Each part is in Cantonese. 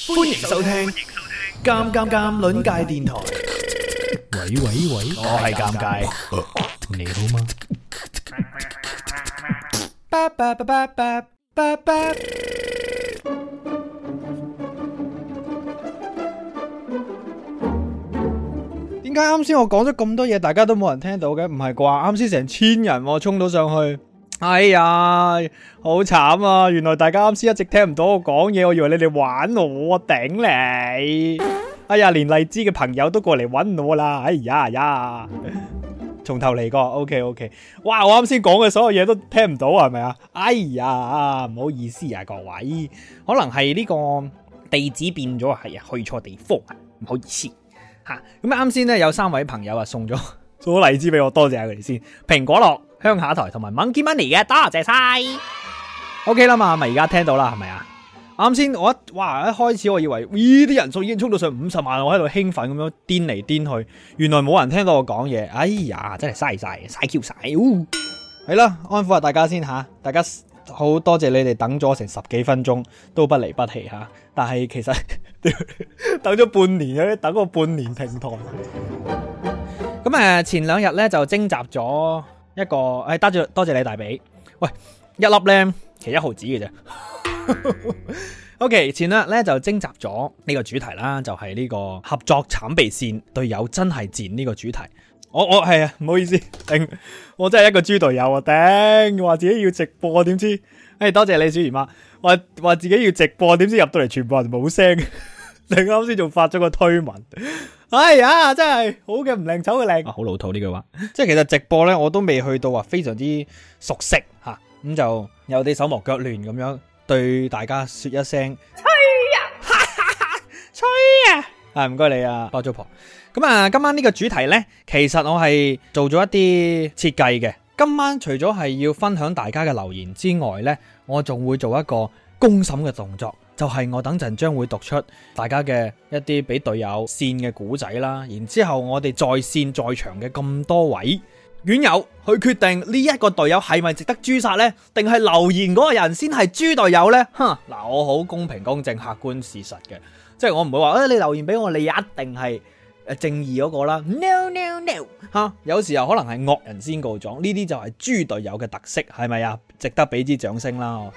歡迎收聽《尷尷尷》鄰界電台。 喂喂喂， 我係尷尬， 你好嗎？ 巴巴巴巴巴巴巴。點解啱先我講咗咁多嘢，大家都冇人聽到嘅？唔係啩？啱先成千人衝到上去。哎呀，好慘啊！原來大家啱先一直聽唔到我講嘢，我以為你哋玩我，頂你！哎呀，連荔枝嘅朋友都過嚟搵我啦！哎呀，從頭嚟過 ，OK， 哇！我啱先講嘅所有嘢都聽唔到，係咪啊？哎呀，唔好意思啊，各位，可能係呢個地址變咗，係啊，去錯地方啊，唔好意思吓。咁啱先咧有3位朋友啊送咗荔枝俾我，多謝佢哋先。蘋果樂、鄉下台同埋 Monkey Money 嘅，多謝晒。OK 啦嘛，咪而家聽到啦，係咪啊？啱先我一開始我以為啲人數已經衝到上50萬，我喺度興奮咁樣癲嚟癲去，原來冇人聽到我講嘢。哎呀，真係嘥 Q 晒。係啦，安撫下大家先吓，大家好多謝你哋等咗成10幾分鐘都不離不棄吓，但係其實等咗半年嘅，等個半年平台。咁前2日咧就徵集咗一個，多謝你大髀。喂，一粒咧其實1毫子嘅啫。OK， 前2日咧就徵集咗呢個主題啦，就係呢個合作慘被線，隊友真係賤呢個主題。我係啊，唔好意思，頂，我真係一個豬隊友啊，頂，話自己要直播，點知，多謝你小姨媽，話自己要直播，點知入到嚟全部人冇聲，你啱先仲發咗個推文。哎呀，真係好嘅唔靚，醜嘅靚，好老土呢句話。即係其實直播咧，我都未去到話非常之熟悉吓，咁就有啲手忙腳亂咁樣對大家說一聲吹啊，唔該你啊，包租婆。咁今晚呢個主題呢，其實我係做咗一啲設計嘅。今晚除咗係要分享大家嘅留言之外呢，我仲會做一個公審嘅動作。就係我等陣將會讀出大家嘅一啲俾隊友線嘅古仔啦，然之後我哋在線在場嘅咁多位院友去決定呢一個隊友係咪值得誅殺呢？定係留言嗰個人先係豬隊友呢？嗱，我好公平公正客觀事實嘅，即係我唔會話你留言俾我，你一定係正義嗰個啦。No， 有時候可能係惡人先告狀，呢啲就係豬隊友嘅特色，係咪啊？值得俾支掌聲啦！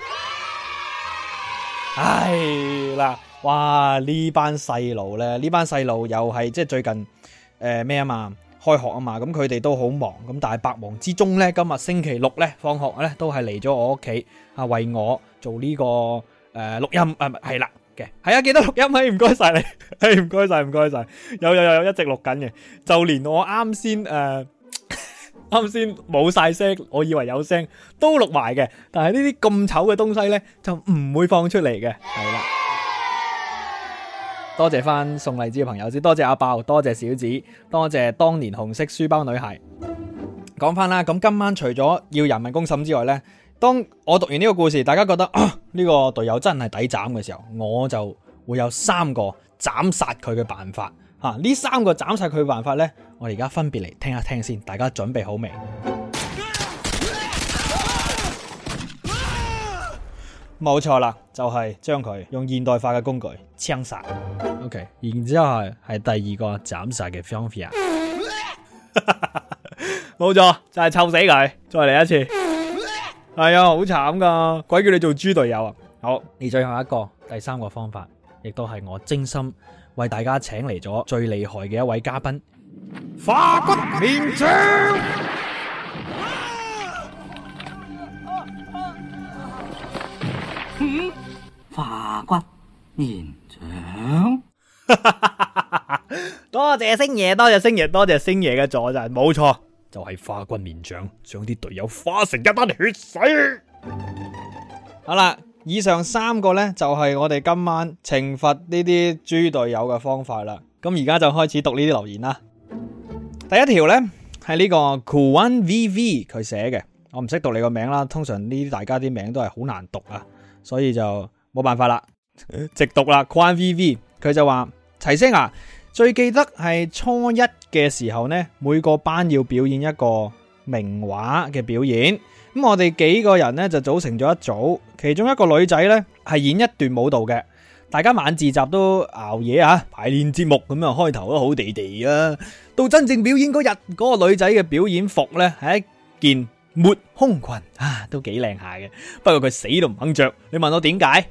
唉啦，哇！呢班細路咧，又係即係最近咩啊嘛，開學啊嘛，咁佢哋都好忙，咁但係百忙之中咧，今日星期6咧放學咧都係嚟咗我屋企啊，為我做呢個錄音係啦嘅，係啊，記得錄音，唔該晒你，唔該晒，有一直錄緊嘅，就連我啱先冇晒聲，我以為有聲都錄埋嘅，但係呢啲咁醜嘅東西呢，就唔會放出嚟嘅，係啦。多謝翻送荔枝嘅朋友先，多謝阿爆，多謝小子，多謝當年紅色書包女孩。講翻啦，咁今晚除咗要人民公審之外呢，當我讀完呢個故事，大家覺得呢個隊友真係抵斬嘅時候，我就會有3個斬殺佢嘅辦法。呢3個斬殺佢嘅辦法呢，我哋而家分別嚟聽一聽先，大家準備好未？冇錯啦，就係將佢用現代化嘅工具槍殺。OK， 然之後係第2個斬殺嘅方法。冇錯，就係臭死佢，再嚟一次。係啊，好慘噶，鬼叫你做豬隊友啊！好，而最後一個第3個方法，亦都係我精心為大家請嚟咗最厲害嘅一位嘉賓，化骨綿掌。 化骨綿掌。 多謝星爺，多謝星爺嘅助陣，冇錯，就係化骨綿掌，將啲隊友化成一灘血水。好啦。以上3個呢，就係我哋今晚懲罰呢啲豬隊友嘅方法啦。咁而家就開始讀呢啲留言啦。第一條呢，係呢個 Kuan VV 佢寫嘅，我唔識讀你個名啦。通常呢啲大家啲名都係好難讀啊，所以就冇辦法啦，直讀啦。Kuan VV 佢就話：齊聲啊，最記得係初1嘅時候呢，每個班要表演一個名畫嘅表演。咁我哋幾個人呢就組成咗一組，其中一個女仔呢係演一段舞蹈嘅， 大家晚自習都熬夜啊，排練節目咁樣，開頭都好地地啊。到真正表演嗰日，嗰個女仔嘅表演服呢係一件抹胸裙啊，都幾靚下嘅。不過佢死都唔肯着，你問我點解？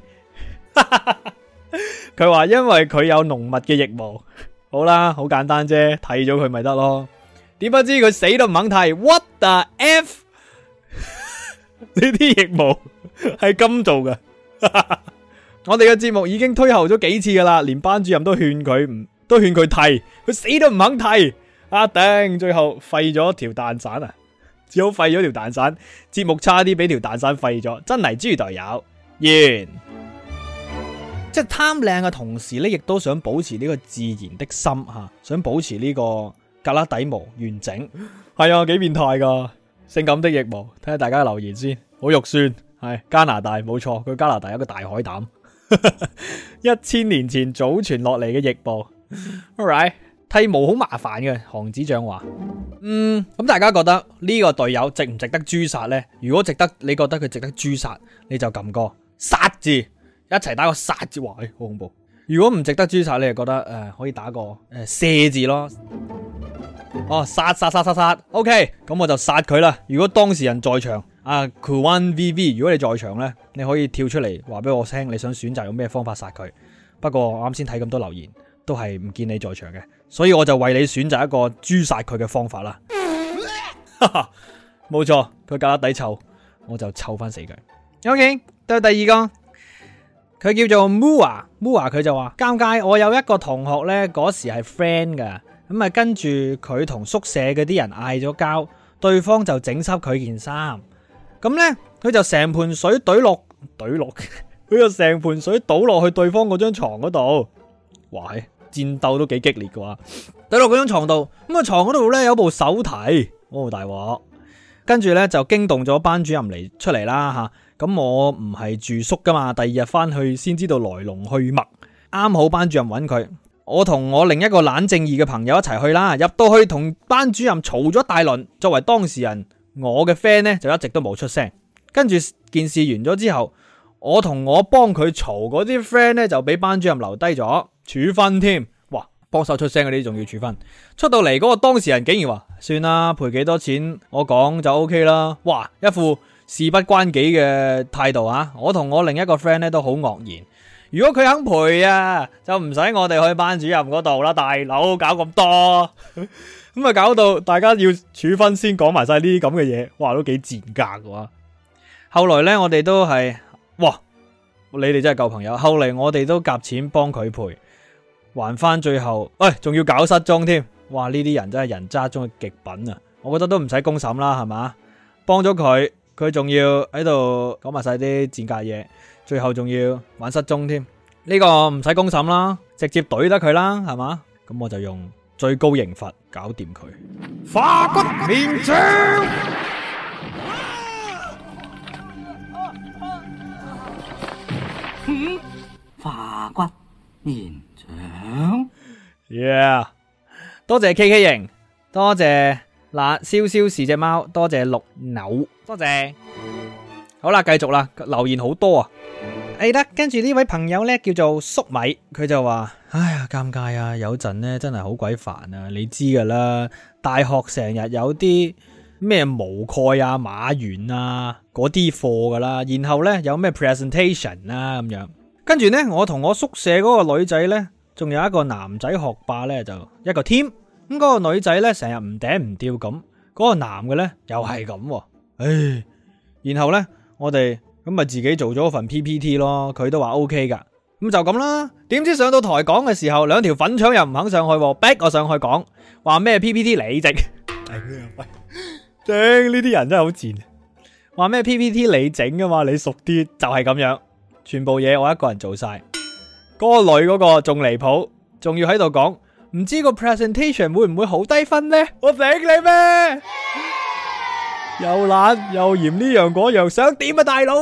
佢話因為佢有濃密嘅腋毛。好啦，好簡單啫，剃咗佢咪得咯。點不知佢死都唔肯剃 ，what the f？ 呢啲腋毛係金做嘅。我哋嘅節目已經推後咗幾次噶啦，連班主任都勸佢剃，佢死都唔肯剃。啊頂！最後廢咗條蛋散啊，只好廢咗條蛋散。節目差啲俾條蛋散廢咗，真係豬隊友。完。即係貪靚嘅同時咧，亦都想保持呢個自然的心吓，想保持呢個胳肋底毛完整。係啊，幾變態噶，性感的腋毛。睇下大家留言先，好肉酸。係加拿大冇錯，佢加拿大有個大海膽。1000年前祖傳落嚟嘅腋毛。Alright， 剃毛好麻煩嘅，韓子醬話。咁大家覺得呢個隊友值唔值得誅殺呢？如果值得，你覺得佢值得誅殺，你就撳個殺字，一齊打個殺字，哇，好恐怖。如果唔值得誅殺，你就覺得可以打個射字咯。哦，殺 OK， 咁我就殺佢啦。如果當事人在場，Kuan VV， 如果你在場呢，你可以跳出嚟話俾我聽，你想選擇用咩方法殺佢。不過我啱先睇咁多留言，都係唔見你在場嘅，所以我就為你選擇一個誅殺佢嘅方法啦。冇錯，佢胳肋底臭，我就臭翻死佢。OK， 到第二個。佢叫做 Mua， 佢就話尷尬，我有一個同學呢，嗰時係 friend 噶，咁啊跟住佢同宿舍嗰啲人嗌咗交，對方就整濕佢件衫，咁呢，佢就成盆水懟落，佢就成盆水倒落去對方嗰張床嗰度，哇，戰鬥都幾激烈嘅話，懟落嗰張床度，咁啊床嗰度呢，有部手提，大鑊，跟住呢，就驚動咗班主任出嚟啦吓。咁我唔係住宿噶嘛，第二日翻去先知道來龍去脈，啱好班主任揾佢，我同我另一個懶正義嘅朋友一齊去啦，入到去同班主任嘈咗大輪，作為當事人，我嘅 friend 呢就一直都冇出聲，跟住件事完咗之後，我同我幫佢嘈嗰啲 friend 呢就俾班主任留低咗，處分添，哇，幫手出聲嗰啲仲要處分，出到嚟嗰個當事人竟然話，算啦，賠幾多錢我講就 OK 啦，哇，一副事不關己嘅態度啊！我同我另一個 friend 咧都好愕然。如果佢肯賠啊，就唔使我哋去班主任嗰度啦，大佬搞咁多，咁啊搞到大家要處分先講埋晒呢啲咁嘅嘢，哇都幾賤格嘅。後來呢，我哋都係，哇，你哋真係舊朋友。後嚟我哋都夾錢幫佢賠，還翻最後，仲要搞失蹤添，哇呢啲人真係人渣中嘅極品啊！我覺得都唔使公審啦，係嘛，幫咗佢。佢仲要喺度講埋晒啲賤格嘢，最後仲要玩失蹤添，呢個唔使公審啦，直接懟得佢啦，係嘛？咁我就用最高刑罰搞掂佢，化骨綿掌。 化骨綿掌。 Yeah， 多謝 KK 型，多謝嗱燒燒是隻貓，多謝綠扭，多謝。好啦，繼續啦，留言好多啊。得，跟住呢位朋友呢叫做粟米，佢就話：哎呀，尷尬啊！有陣呢真係好鬼煩啊！你知噶啦，大學成日有啲咩毛概啊、馬原啊嗰啲課噶啦，然後呢有咩 presentation 啊咁樣。跟住呢，我同我宿舍嗰個女仔呢，仲有一個男仔學霸呢，就一個 team。咁嗰個女仔呢，成日唔頂唔掉咁，嗰個男嘅呢，又係咁，唉。然後呢，我哋咁咪自己做咗份 PPT 咯，佢都話 OK 噶，咁就咁啦。點知上到台講嘅時候，兩條粉腸又唔肯上去，逼我上去講，話咩 PPT 你整，頂呢啲人真係好賤，話咩 PPT 你整噶嘛，你熟啲就係咁樣，全部嘢我一個人做晒。嗰個女嗰個仲離譜，仲要喺度講，唔知個 presentation 會唔會好低分呢？我頂你咩？又懶又嫌呢樣嗰樣，想點啊大佬？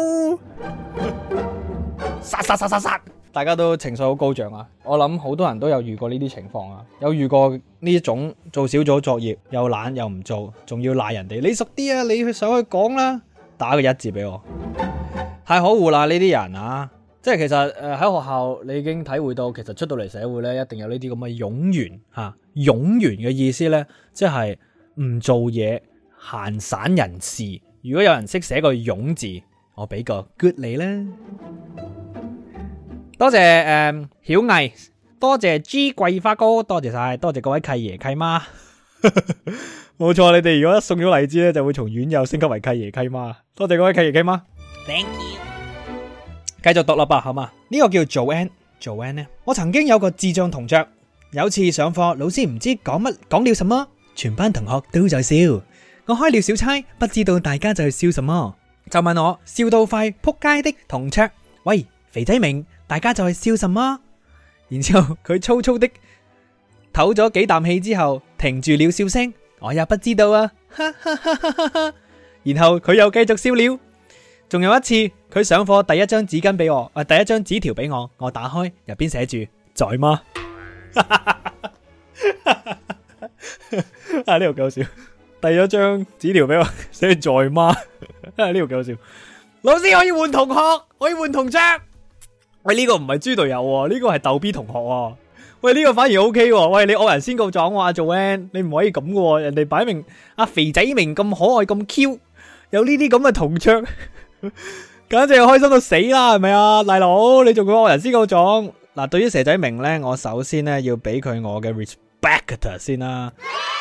殺！大家都情緒好高漲啊！我諗好多人都有遇過呢啲情況啊，有遇過呢種做小組作業又懶又唔做，仲要賴人哋，你熟啲啊，你去上去講啦，打個一字俾我，太可惡啦呢啲人啊！ 即係其實喺學校你已經體會到，其實出到嚟社會咧，一定有呢啲咁嘅冗員嚇。冗員嘅意思咧，即係唔做嘢、閒散人士。如果有人識寫個冗字，我俾個 good 你啦。多謝曉毅，多謝 G 桂花哥，多謝晒，多謝各位契爺契媽。冇錯，你哋如果一送咗荔枝咧，就會從院友升級為契爺契媽。多謝各位契爺契媽。Thank you。繼續讀啦吧，好嘛？呢個叫 Joanne 呢，我曾經有個智障同桌，有次上課，老師唔知講了什麼，全班同學都在笑。我開了小差，不知道大家在笑什麼，就問我笑到快撲街的同桌：喂，肥仔明，大家在笑什麼？然之後佢粗粗的唞咗幾啖氣之後，停住了笑聲。我也不知道啊，哈哈哈哈哈哈。然後佢又繼續笑了。仲有一次，佢上課第一張紙巾俾我，第一張紙條俾我，我打開入邊寫住在嗎？啊，呢個搞笑。第一張紙條俾我寫在嗎？呢個搞笑。老師，我要換同學，我要換同桌。喂，呢個唔係豬隊友，呢個係逗 B 同學。喂，呢個反而 OK 喎。喂，你惡人先告狀喎，阿 Joanne，你唔可以咁嘅。人哋擺明阿肥仔明咁可愛咁 Q，有呢啲咁嘅同桌。簡直係開心到死啦，係咪啊，大佬？你仲講惡人先告狀嗱？對於蛇仔明呢，我首先呢要俾佢我嘅 respect 先啦。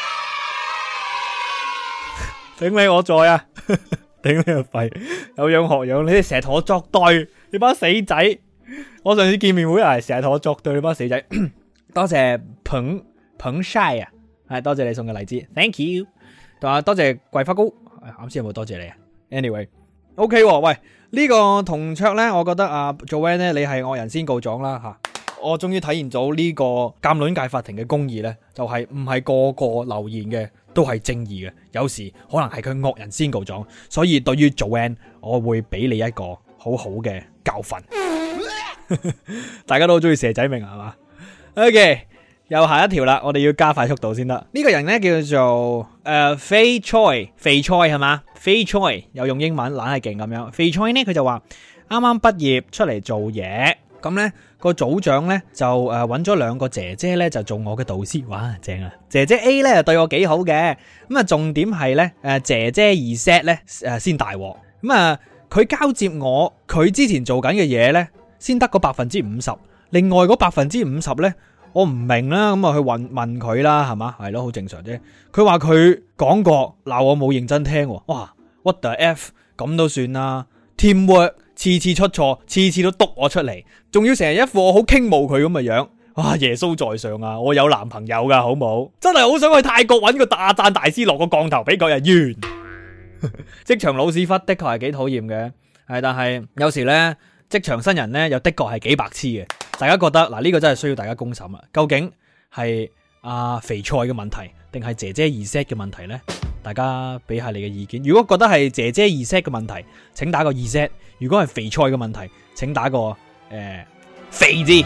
頂你我在啊！頂你個肺！有樣學樣，你哋成日同我作對，你班死仔！我上次見面會成日同我作對，你班死仔。多謝捧晒啊，係多謝你送嘅荔枝 ，thank you。同埋多謝桂花糕，啱先有冇多謝你啊 ？Anyway。OK， 喂，呢個同桌呢，我覺得啊 Joanne 呢，你係惡人先告狀啦吓。我終於體現到呢個鑑論界法庭嘅公義呢，就係唔係個個留言嘅都係正義嘅，有時可能係佢惡人先告狀。所以對於 Joanne，我會俾你一個好好嘅教訓。大家都好中意蛇仔明係嘛 ？OK， 又下一條啦，我哋要加快速度先得。呢個人呢，叫做肥菜係嘛？肥菜又用英文懶係勁咁樣。肥菜呢，佢就話啱啱畢業出嚟做嘢，咁呢個組長呢，就揾咗兩個姐姐呢，就做我嘅導師。哇，正啊！姐姐 A 呢，對我幾好嘅，咁啊重點係呢，姐姐二 set 呢，先大鑊。咁啊佢交接我，佢之前做緊嘅嘢呢，先得個50%，另外嗰50%呢，我唔明啦，咁啊去問佢啦，係嘛？係咯，好正常啫。佢話佢講過，鬧我冇認真聽。哇 ，what the f， 咁都算啦。Teamwork 次次出錯，次次都督我出嚟，仲要成日一副我好傾慕佢咁嘅樣。哇，耶穌在上啊！我有男朋友噶，好冇？真係好想去泰國揾個大讚大師落個降頭俾佢啊！完。職場老屎忽的確係幾討厭嘅，係，但係有時呢，職場新人呢，又的確係幾白痴嘅。大家覺得嗱，呢個真係需要大家公審啊！究竟係肥菜嘅問題，定係姐姐二 set 嘅問題呢？大家俾下你嘅意見。如果覺得係姐姐二 set 嘅問題，請打個二 set；如果係肥菜嘅問題，請打個肥字。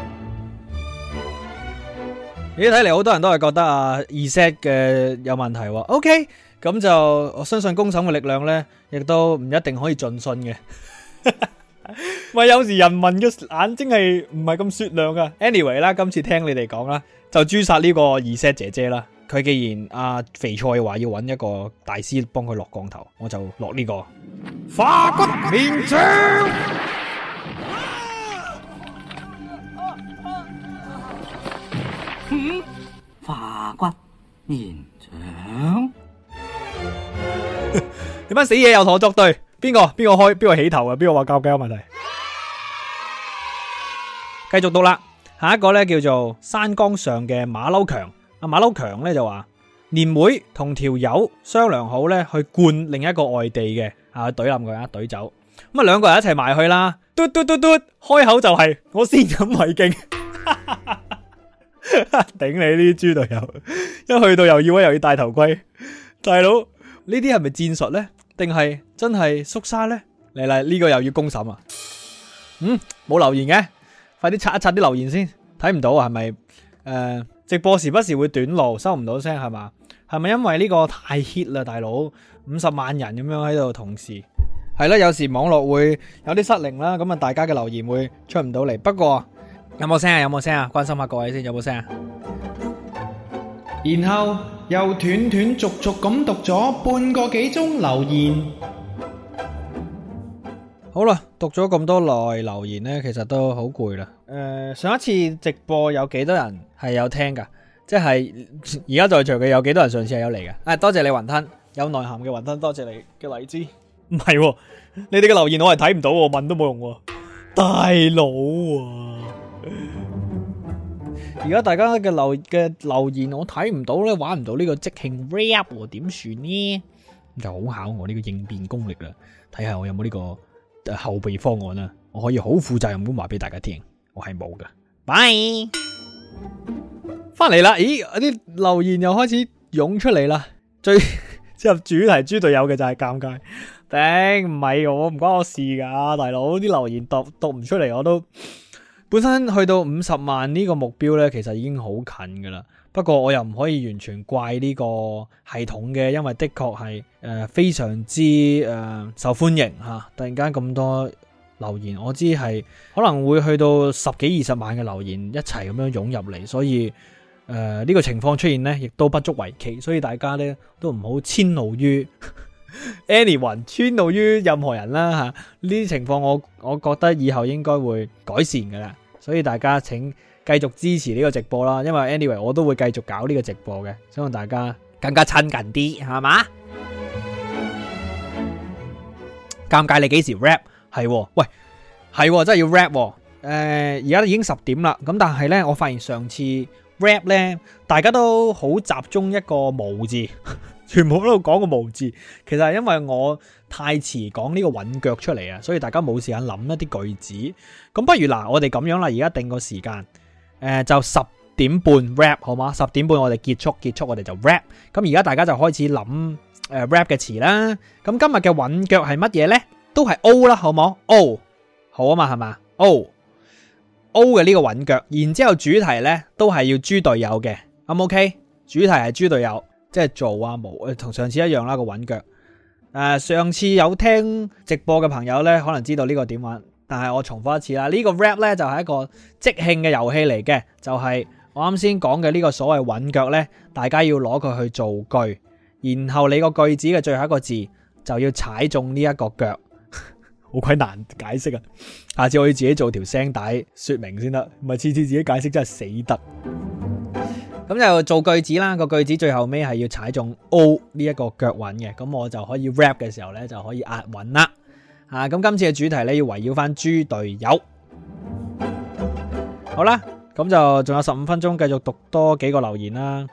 咦，睇嚟好多人都係覺得二 set 嘅有問題喎。OK，咁就我相信公審嘅力量呢，亦都唔一定可以盡信嘅。咪有時人民嘅眼睛係唔係咁雪亮噶。Anyway 啦，今次聽你哋講啦，就誅殺呢個二 set 姐姐啦。佢既然肥菜話要揾一個大師幫佢落降頭，我就落呢個化骨綿掌。 化骨綿掌。 你班死嘢又同我作對，邊個起頭啊？邊個話教雞有問題？繼續讀啦，下一個咧叫做山崗上嘅馬騮強。阿馬騮強咧就話年會同條友商量好咧去灌另一個外地嘅懟冧佢懟走。咁啊兩個人一齊埋去啦，嘟嘟嘟嘟，開口就係我先飲為敬。頂你呢啲豬隊友，一去到又要戴頭盔，大佬呢啲係咪戰術呢？定係真係縮沙呢？嚟呢個又要公審啊！冇留言嘅，快啲刷一刷啲留言先，睇唔到啊？係咪直播時不時會短路，收唔到聲係嘛？係咪因為呢個太 hit 啦，大佬50萬人咁樣喺度同時係啦，有時網絡會有啲失靈啦，咁啊大家嘅留言會出唔到嚟。不過有冇聲啊？有冇聲啊？關心下各位先，有冇聲啊？然後又斷斷續續咁讀咗半個幾鐘留言。好啦，讀咗咁多耐留言呢，其實都好攰啦。上一次直播有幾多人係有聽噶？即係而家在場嘅有幾多人上次係有嚟嘅？多謝你雲吞，有內涵嘅雲吞，多謝你嘅荔枝。唔係喎，你哋嘅留言我係睇唔到喎，問都冇用喎，大佬啊！而家大家嘅留言我睇唔到咧，玩唔到呢個即興 rap 喎，點算呢？就好考我呢個應變功力啦，睇下我有冇呢個後備方案啦，我可以好負責任咁話俾大家聽，我係冇噶。Bye，翻嚟啦！咦，啲留言又開始湧出嚟啦，最入主題豬隊友嘅就係尷尬。頂，唔係我，唔關我事噶，大佬啲留言讀唔出嚟，我都本身去到50萬呢個目標呢，其實已經好近噶啦。不過我又唔可以完全怪呢個系統嘅，因為的確係非常之受歡迎吓。突然間咁多留言，我知係可能會去到10幾20萬嘅留言一齊咁樣湧入嚟，所以呢個情況出現呢，亦都不足為奇。所以大家呢，都唔好遷怒於anyone，遷怒於任何人啦吓。呢啲情況我覺得以後應該會改善噶啦，所以大家請繼續支持呢個直播啦。因為 anyway 我都會繼續搞呢個直播嘅，希望大家更加親近啲，係嘛？尷尬，你幾時 rap？ 係喎，喂，係喎，真係要 rap 喎。而家已經10點啦，咁但係呢，我發現上次 rap 呢，大家都好集中一個無字。全部都講個無字，其實係因為我太遲講呢個韻腳出嚟啊，所以大家冇時間諗一啲句子。咁不如嗱，我哋咁樣啦，而家定個時間，就10點半 rap 好嗎？10點半我哋結束我哋就 rap。咁而家大家就開始諗rap 嘅詞啦。咁今日嘅韻腳係乜嘢呢？都係 O 啦，好冇 ？O 好啊嘛，係嘛 ？O 嘅呢個韻腳，然之後主題呢都係要豬隊友嘅，咁 OK？主題係豬隊友。即係做啊冇，同上次一樣啦個韻腳。上次有聽直播嘅朋友呢，可能知道呢個點玩，但係我重複一次啦。呢個 rap 呢，就係一個即興嘅遊戲嚟嘅，就係我啱先講嘅呢個所謂韻腳呢，大家要攞佢去造句，然後你個句子嘅最後一個字就要踩中呢一個腳，好鬼難解釋啊！下次我要自己做條聲帶說明先得，唔係次次自己解釋真係死得。咁就做句子啦，個句子最後尾係要踩中 O 呢一個腳韻嘅，咁我就可以 rap 嘅時候呢，就可以押韻啦。咁今次嘅主題呢，要圍繞翻豬隊友。好啦，咁就仲有15分鐘，繼續讀多幾個留言啦。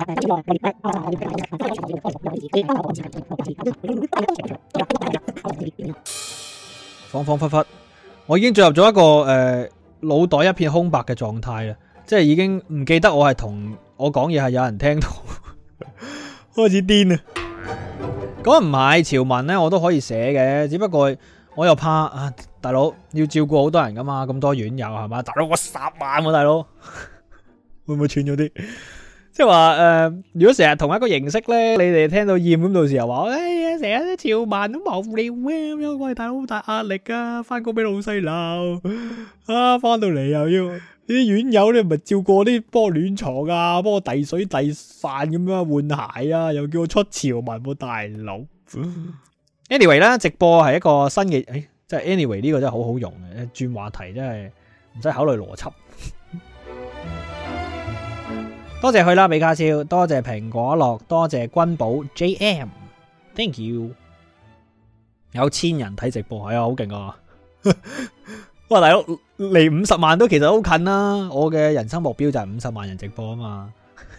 恍恍惚惚，我已經進入咗一個腦袋一片空白嘅狀態啦。即係已經唔記得我係同我講嘢係有人聽到，開始癲啊！咁唔係潮文呢，我都可以寫嘅，只不過我又怕啊，大佬要照顧好多人噶嘛，咁多院友係嘛，大佬我10萬喎，大佬會唔會串咗啲？即係話如果成日同一個形式呢，你哋聽到厭咁，到時候話哎呀，成日啲潮文都無聊啊咁樣，喂大佬好大壓力啊，翻工俾老細鬧啊，翻到嚟又要。啲院友咧，咪照顧啲幫我暖床啊，幫我遞水遞飯咁樣換鞋啊，又叫我出潮文喎，大佬。anyway 啦，直播係一個新嘅，即係 anyway 呢個真係好好用嘅，轉話題真係唔使考慮邏輯。多謝去啦，比卡超，多謝蘋果樂，多謝君寶 JM，thank you。有1000人睇直播，係啊，好勁啊！哇，大佬離50萬都其實好近啦！我嘅人生目標就係50萬人直播啊嘛。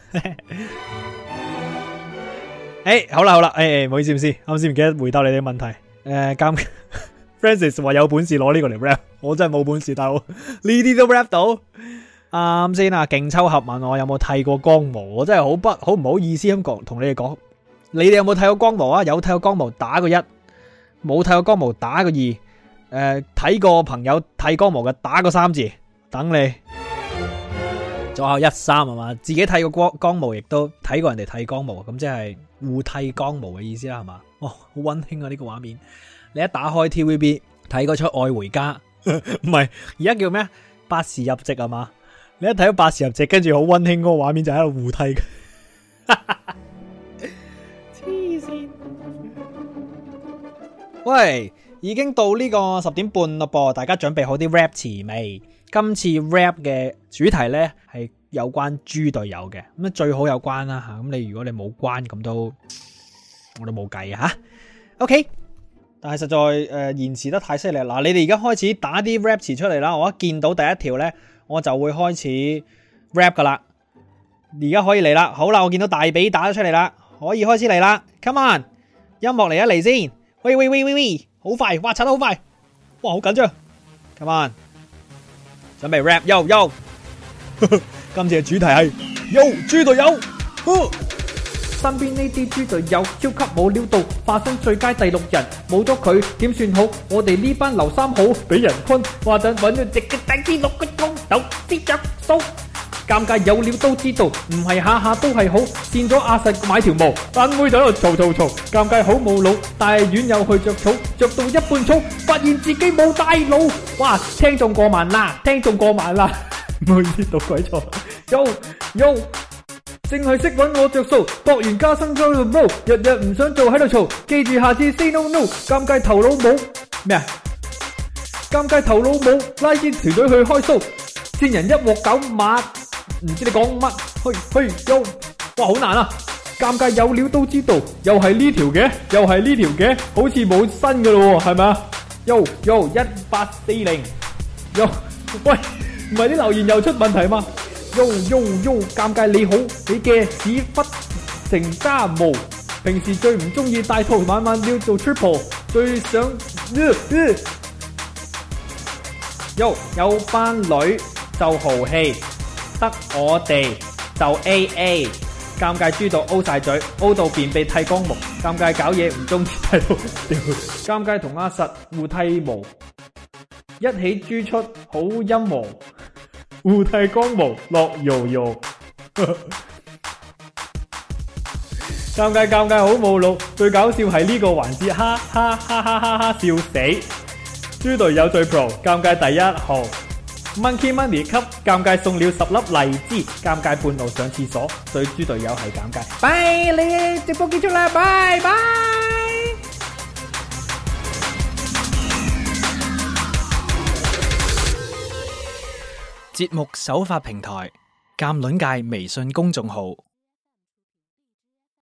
好啦，唔好意思，啱先唔記得回答你哋問題。Francis 話有本事攞呢個嚟 rap， 我真係冇本事，大佬呢啲都 rap 到。啱先啊，勁抽盒問我有冇剃過光毛，我真係好唔好意思咁講，同你哋講，你哋有冇剃過光毛啊？有剃過光毛打個1，冇剃過光毛打個2。睇過朋友剃光毛嘅打個3字，等你。左右1、3係嘛？自己剃過光毛，亦都睇過人哋剃光毛，咁即係互剃光毛嘅意思啦，係嘛？哦，好溫馨啊呢個畫面。 你一打開 TVB 睇嗰出《愛回家》，唔係而家叫咩？百事入席啊嘛？你一睇到百事入席，跟住好溫馨嗰個畫面就喺度互踢。黐線！喂，已經到呢個10點半咯噃，大家準備好啲 rap 詞未？今次 rap 嘅主題呢係有關豬隊友嘅，咁最好有關啦吓。咁你如果你冇關，咁我都冇計啊吓。OK， 但係實在延遲得太犀利。嗱，你哋而家開始打啲 rap 詞出嚟啦，我一見到第一條呢，我就會開始 rap 噶啦。而家可以嚟啦，好啦，我見到大髀打咗出嚟啦，可以開始嚟啦。Come on， 音樂嚟一嚟先。喂，好快，哇，刷得好快，哇，好緊張。Come on， 準備 rap， yo， 今次嘅主題係 yo 豬隊友。 身邊呢啲豬隊友超級冇料到，化身最佳第6人，冇咗佢點算好？我哋呢班劉三好俾人坤，話陣揾咗直嘅第6個鐘頭先着數。尷尬有料都知道，唔係下下都係好。見咗阿實買條毛，班妹就喺度嘈。尷尬好冇腦，大院又去着草，着到一半草，發現自己冇帶腦。哇！聽眾過萬啦，唔好意思讀鬼錯。yo，淨係識搵我着數，博完加薪咗度 no， 日唔想做喺度嘈，記住下次 say no。尷尬頭腦冇咩啊？尷尬頭腦冇，拉啲團隊去開 show， 見人一鑊狗馬。唔知你講乜？嘿，yo，哇，好難啊！尷尬有料都知道，又係呢條嘅，好似冇新噶咯，係咪啊 ？yo 1840，喂，唔係啲留言又出問題嘛 ？yo，尷尬你好，你嘅屎忽成渣毛，平時最唔中意戴套，晚晚要做 triple， 最想yo 有班女就豪氣。得我哋就 AA， 尷尬豬到 O 晒嘴 ，O 到便秘剃光毛，尷尬搞嘢唔中意剃到，尷尬同阿實互剃毛，一起豬出好陰毛，互剃光毛落搖，尷尬好冇腦，最搞笑係呢個環節，哈哈笑死，豬隊友最 pro， 尷尬第1號。Monkey Money 給尷尬送了10粒荔枝，尷尬半路上廁所，對豬隊友係尷尬。拜你直播結束啦，拜拜。 節目首發平台：鑑論界微信公眾號。